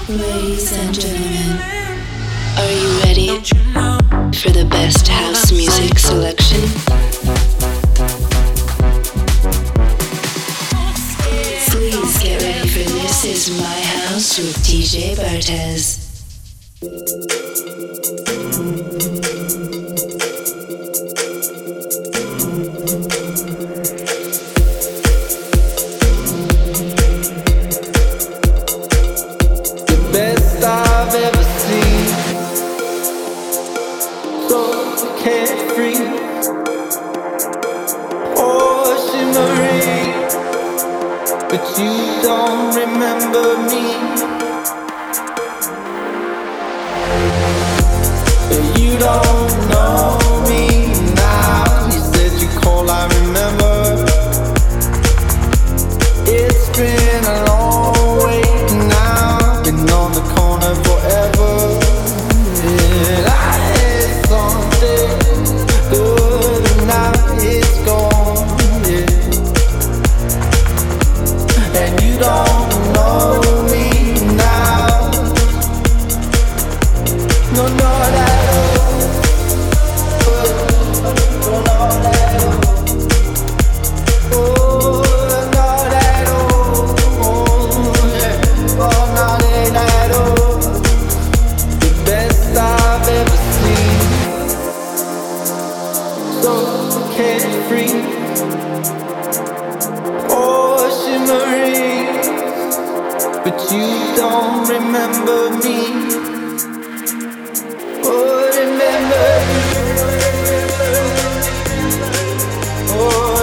Ladies and gentlemen, are you ready for the best house music selection? Please get ready for This Is My House with DJ Bartez. But you don't remember me. You don't know me now. You said you call, I remember. It's been a long wait now. Been on the corner forever. And I had something good and now it's gone. And you don't know me now. No, not at all. No, not at all. Oh, not at all. Oh, not at all. The best I've ever seen. So carefree. Oh, shimmering. But you don't remember me. Oh, remember me. Oh,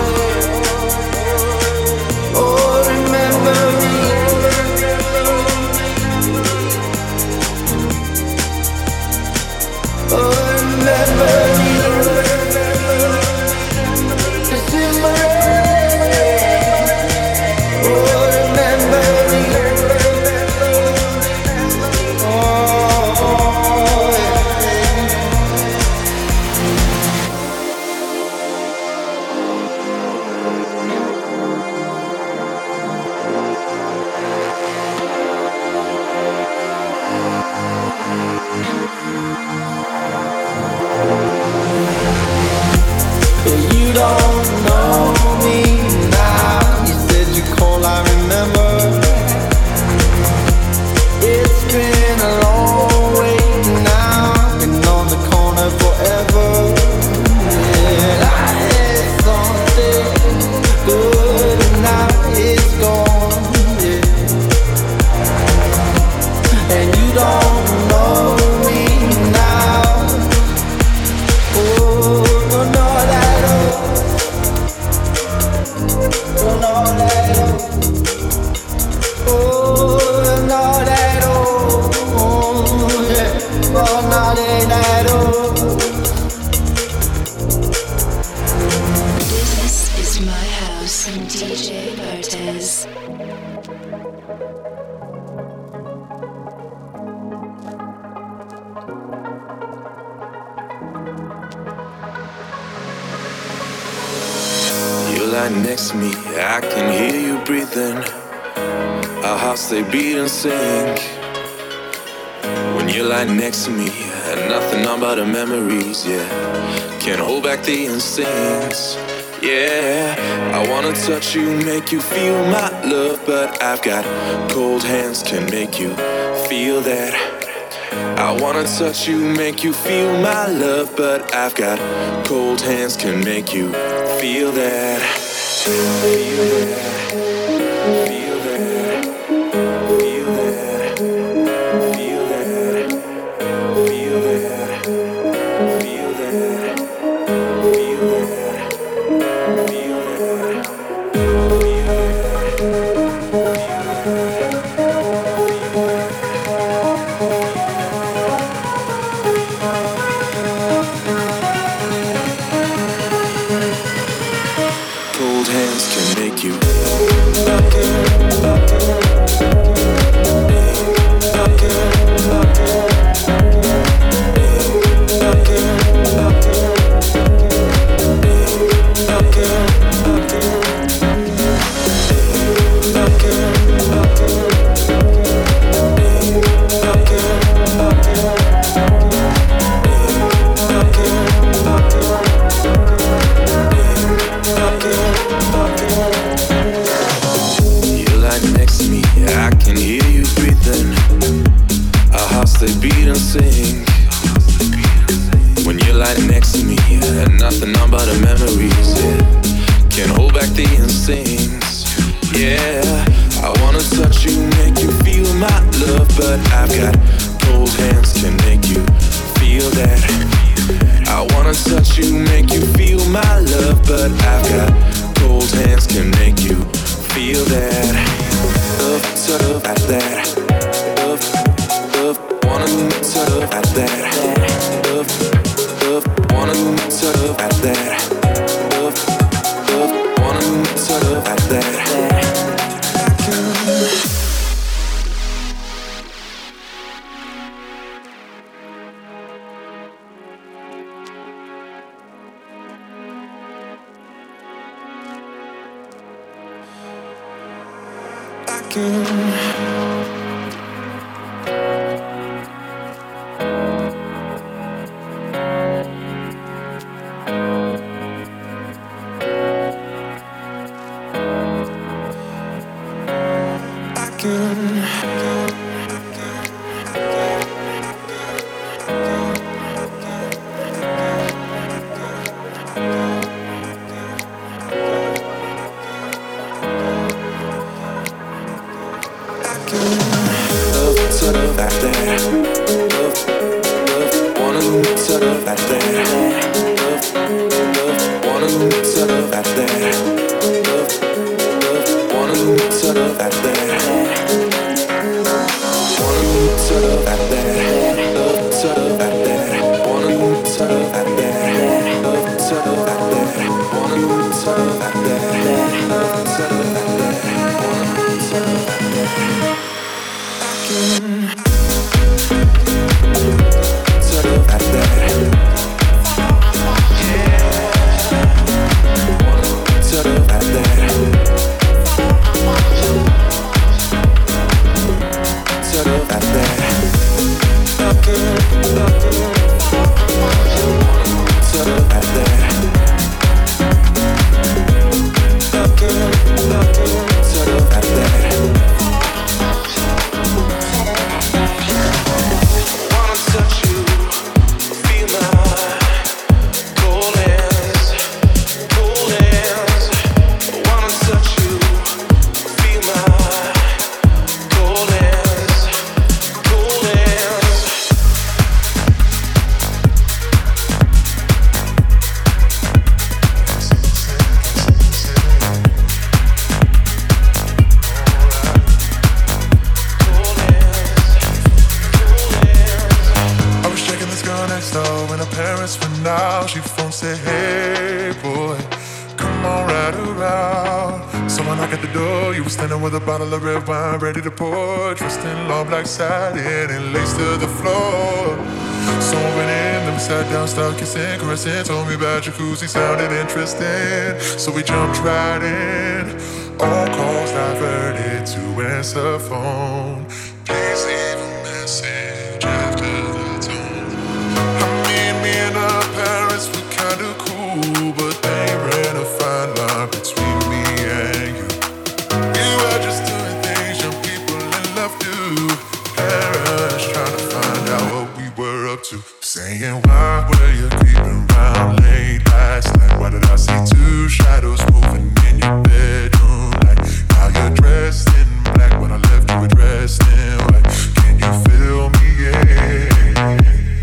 oh, remember me. Oh, remember me. The shimmering. Oh, remember me. You don't know me now. You said you call, I remember. It's been a long wait now. Been on the corner forever. And I had something good and now it's gone. And you don't know me now. Oh, no, not at all. No, not at all. Oh, not at all. Oh, yeah. Oh, not at all. This is my house and DJ Bartez. You lie next to me, I can hear you breathing. Our hearts they beat and sing. When you lie next to me, nothing on but the memories, yeah. Can't hold back the instincts, yeah. I wanna touch you, make you feel my love, but I've got cold hands, can make you feel that. I wanna touch you, make you feel my love, but I've got cold hands, can make you feel that. Feel that. Feel that. Feel that. Feel that. Feel that. Feel that. Feel that. Feel that. Cold hands can make you they beat and sing. When you're lying next to me, and nothing but the memories, yeah. Can't hold back the instincts, yeah. I wanna touch you, make you feel my love, but I've got cold hands, can make you feel that. I wanna touch you, make you feel my love, but I've got cold hands, can make you feel that. Love, love, at that. Love, love, wanna love at that. Love, love, wanna love at that. Love, love, wanna love at that. Ready to pour, dressed in long black satin and lace to the floor. Someone went in, then we sat down, started kissing, caressing. Told me about jacuzzi, sounded interesting, so we jumped right in. All calls diverted to answer phone. Please leave a message after the tone. Me and our parents were kinda cool, but they ran a fine line between me and you. We were just doing things young people in love do. Parents trying to find out what we were up to. Saying, why were you creeping around late last night? Why did I see two shadows moving in your bedroom light? Now you're dressed in black, when I left you were dressed in white. Can you feel me? Yeah.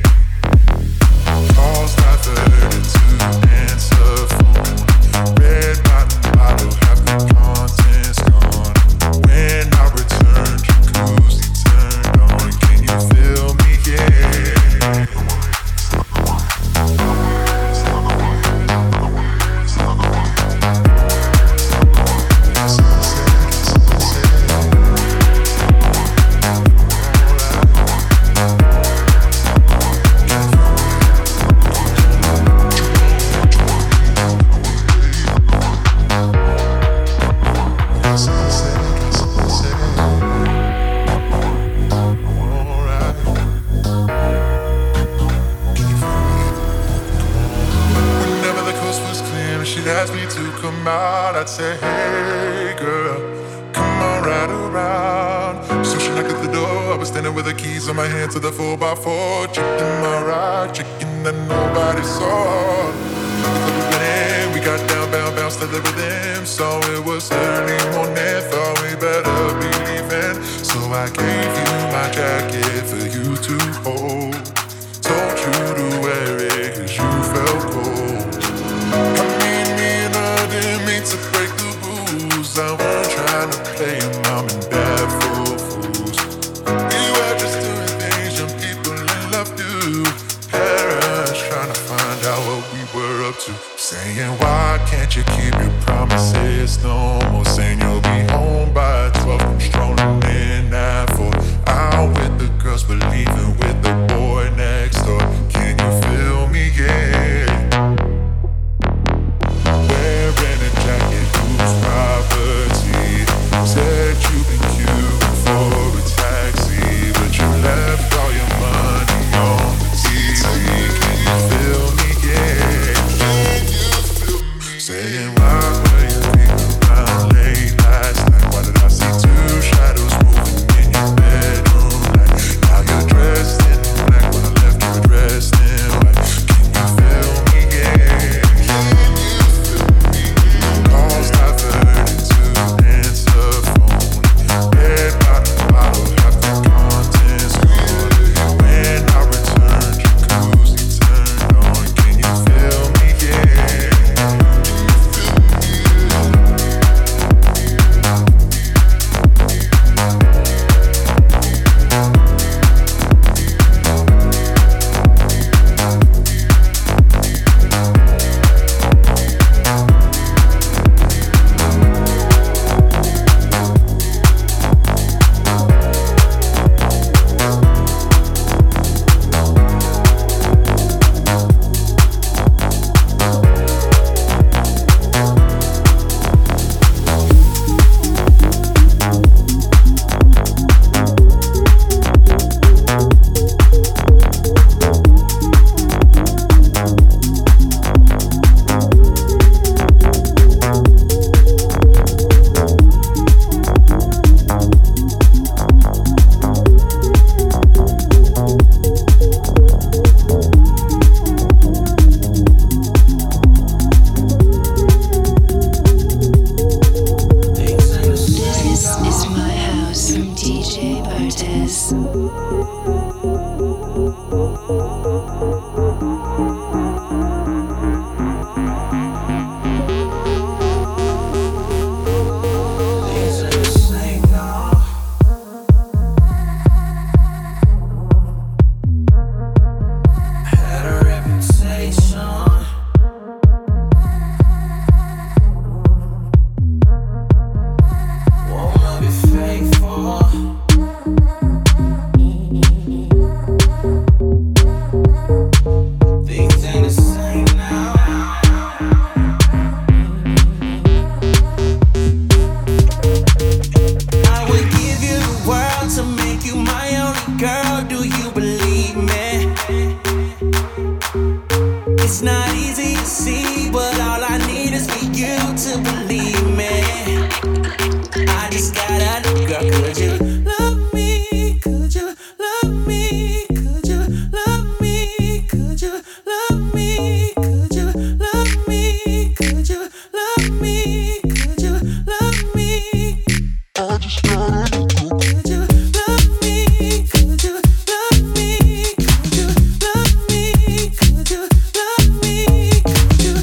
Calls diverted to answer phone. Red bottle, half the contents gone. When I returned, jacuzzi turned on. Can you feel me? Yeah. I'd say, hey girl, come on right around. So she knocked at the door, I was standing standing with the keys in my hand to the 4x4. Chicken my ride, chicken that nobody saw. We got down, bounced to the rhythm. So it was early morning, thought we better be leaving. So I gave you my jacket for you to hold. Told you to wear it cause you felt cold. I mean, I didn't mean to break the rules. I wasn't trying to play your mom and dad for fools. We were just doing things young people in love do. Parents trying to find out what we were up to. Saying, why can't you keep your promises? No more saying you'll be home by 12. I'm strolling in at 4. Out with the girls, but leaving with the boy next door. Can you feel me? Yeah. Wearing a jacket, whose property? Said you've been queuing for a taxi, but you left all your money on the TV. Can you feel me? Yeah. Can you feel me? Saying why were you leaving around late last night? Why did I see two shadows moving in your bedroom light? Now you're dressed in black when I left you were dressed in white. Can you feel me? Yeah. Can you feel me? Calls diverted to answer phone. Red bottle, half the contents gone. When I returned, jacuzzi turned on. Can you feel me? Yeah. This is my house from DJ Bartes. It's not easy to see, but all I need is for you to believe me. I just gotta know, girl, could you love me? Could you love me? Could you love me? Could you love me? Could you love me? Could you love me? Could you love me? I just gotta know. Could you love me? Could you love me? Could you love me? Could you love me? Could you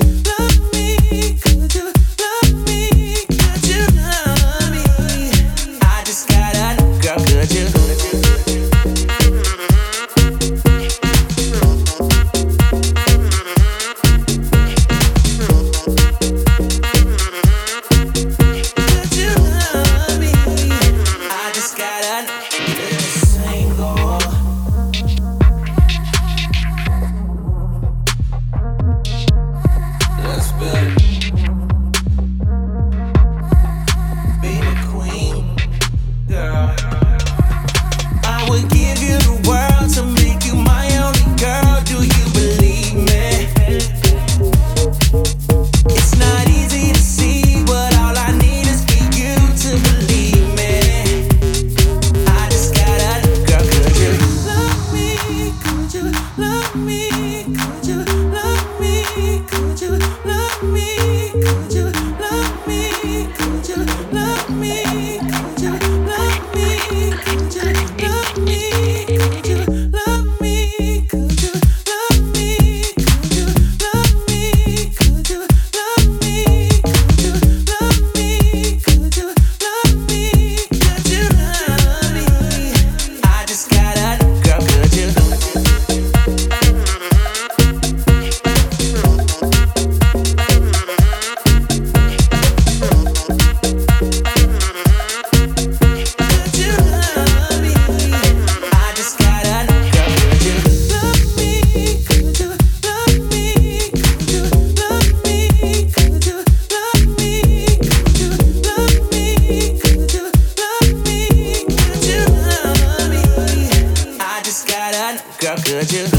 girl, could you?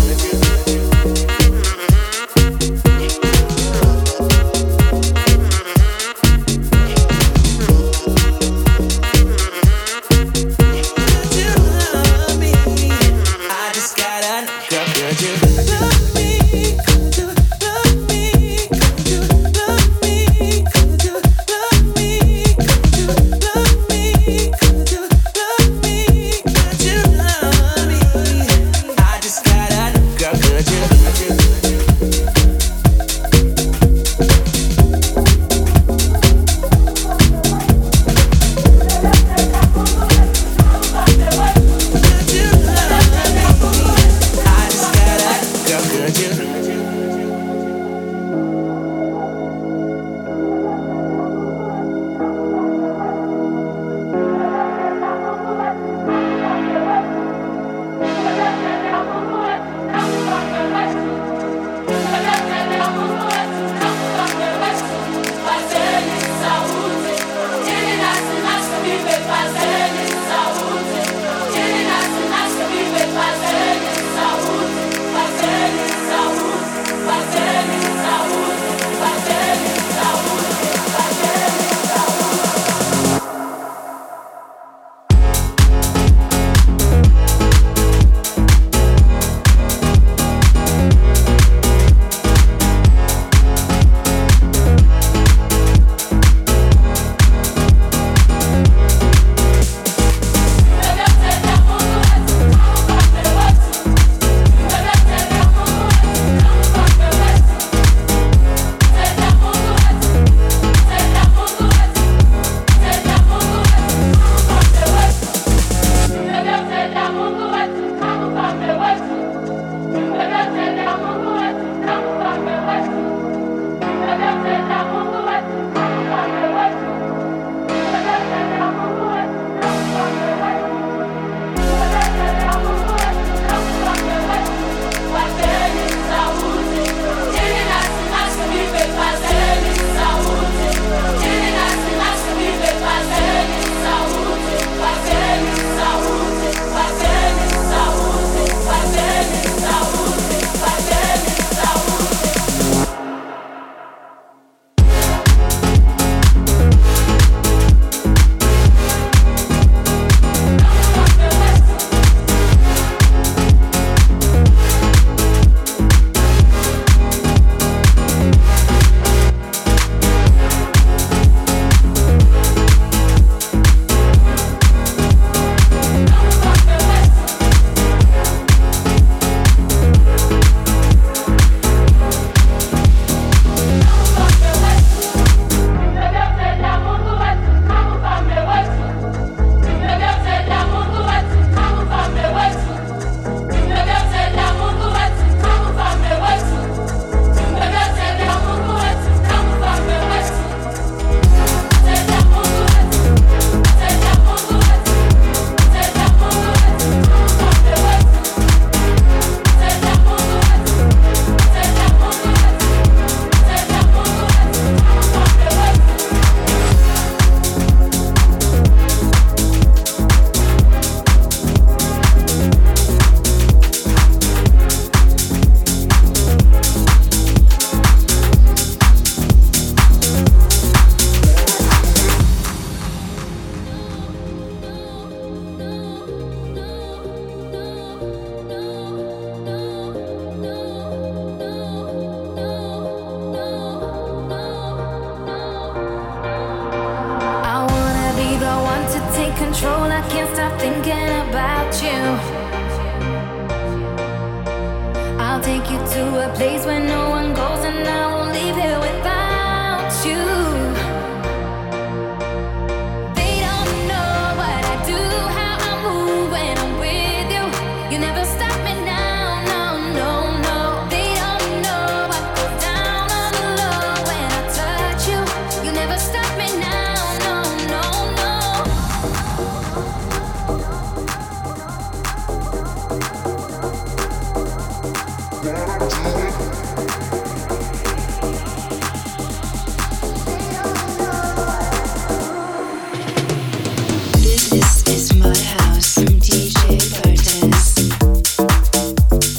control, I can't stop thinking about you. I'll take you to a place where no one goes, and I won't leave here without you. They don't know what I do, how I move when I'm with you. You never stop me now, no, no, no. They don't know what goes down on the low when I touch you. You never stop me now, no, no, no. This is my house. I'm DJ Bartez.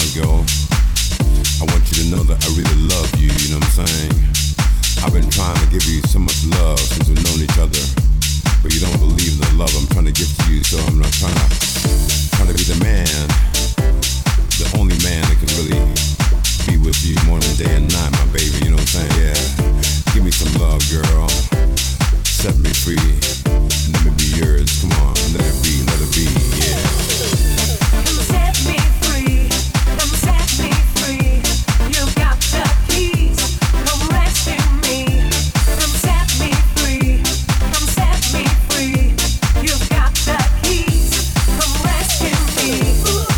go. I want you to know that I really love you, you know what I'm saying? I've been trying to give you so much love since we've known each other, but you don't believe the love I'm trying to give to you, so I'm not trying to be the man, the only man that can really be with you morning, day, and night, my baby, you know what I'm saying? Yeah. Give me some love, girl. Set me free. Let me be yours. Come on, let it be, yeah. Come set me free. Come set me free. You got the keys. Come rescue me. Come set me free. Come set me free. You got the keys. Come rescue me.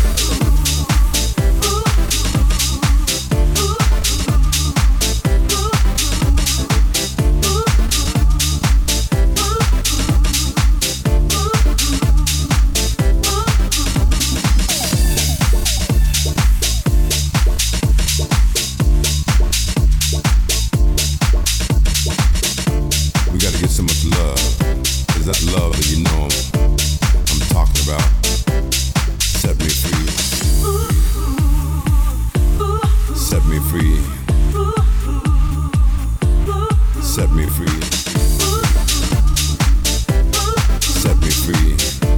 Love that you know I'm talking about. Set me free. Set me free. Set me free. Set me free.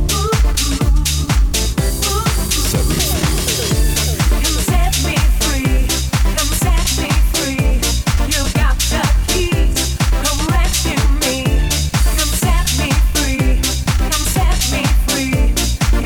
Set me free. Come set me free. Come set me free. You got the keys. Come rescue me. Come set me free. Come set me free.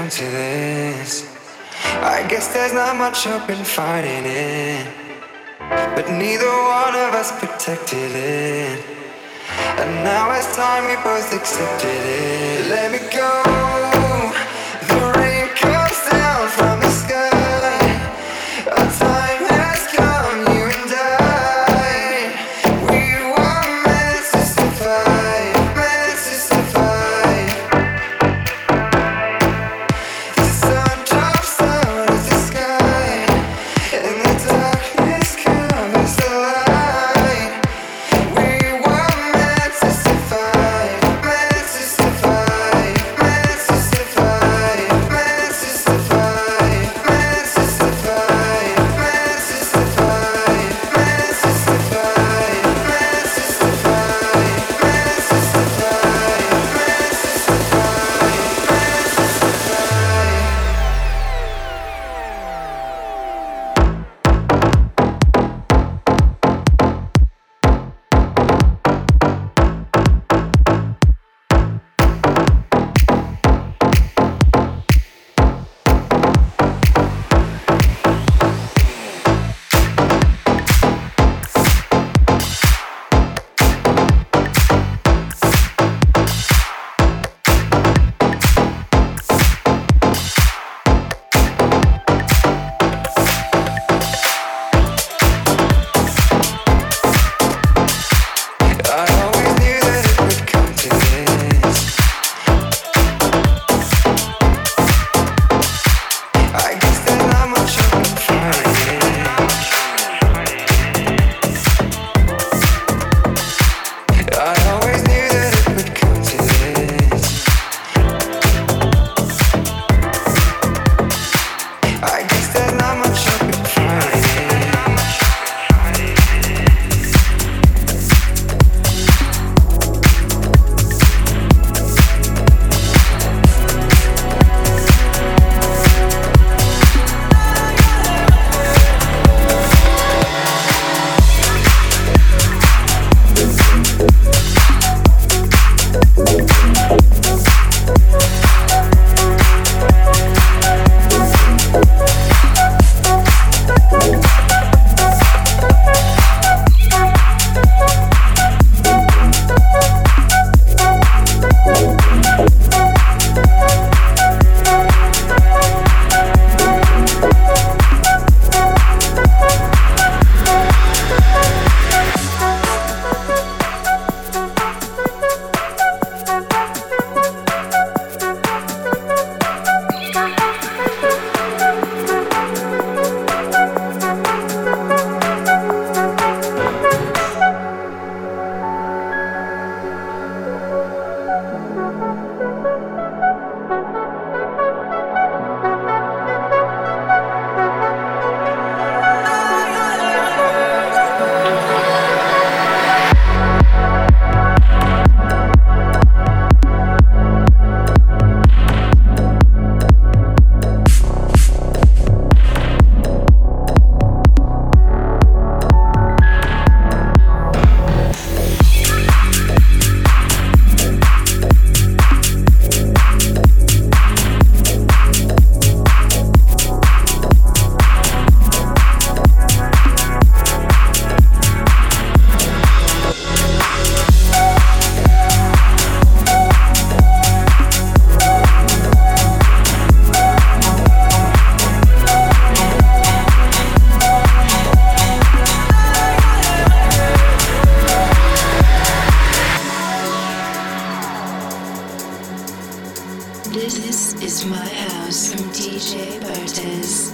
to this. I guess there's not much hope in fighting it, but neither one of us protected it. And now it's time we both accepted it. Let me go. The rain comes down from the sky. Our time has come, you and I. We were meant to survive, meant to survive. The sun drops out of the sky, and the darkness covers the light. We were meant to survive, meant to survive, meant to survive, meant to survive, meant to survive, meant to survive, meant to survive, meant to survive, meant to survive, meant to This is my house from DJ Bartez.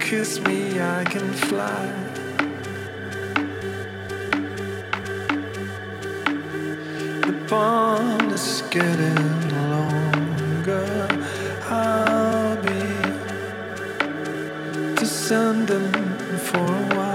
kiss me, I can fly. The bond is getting longer. I'll be descending for a while.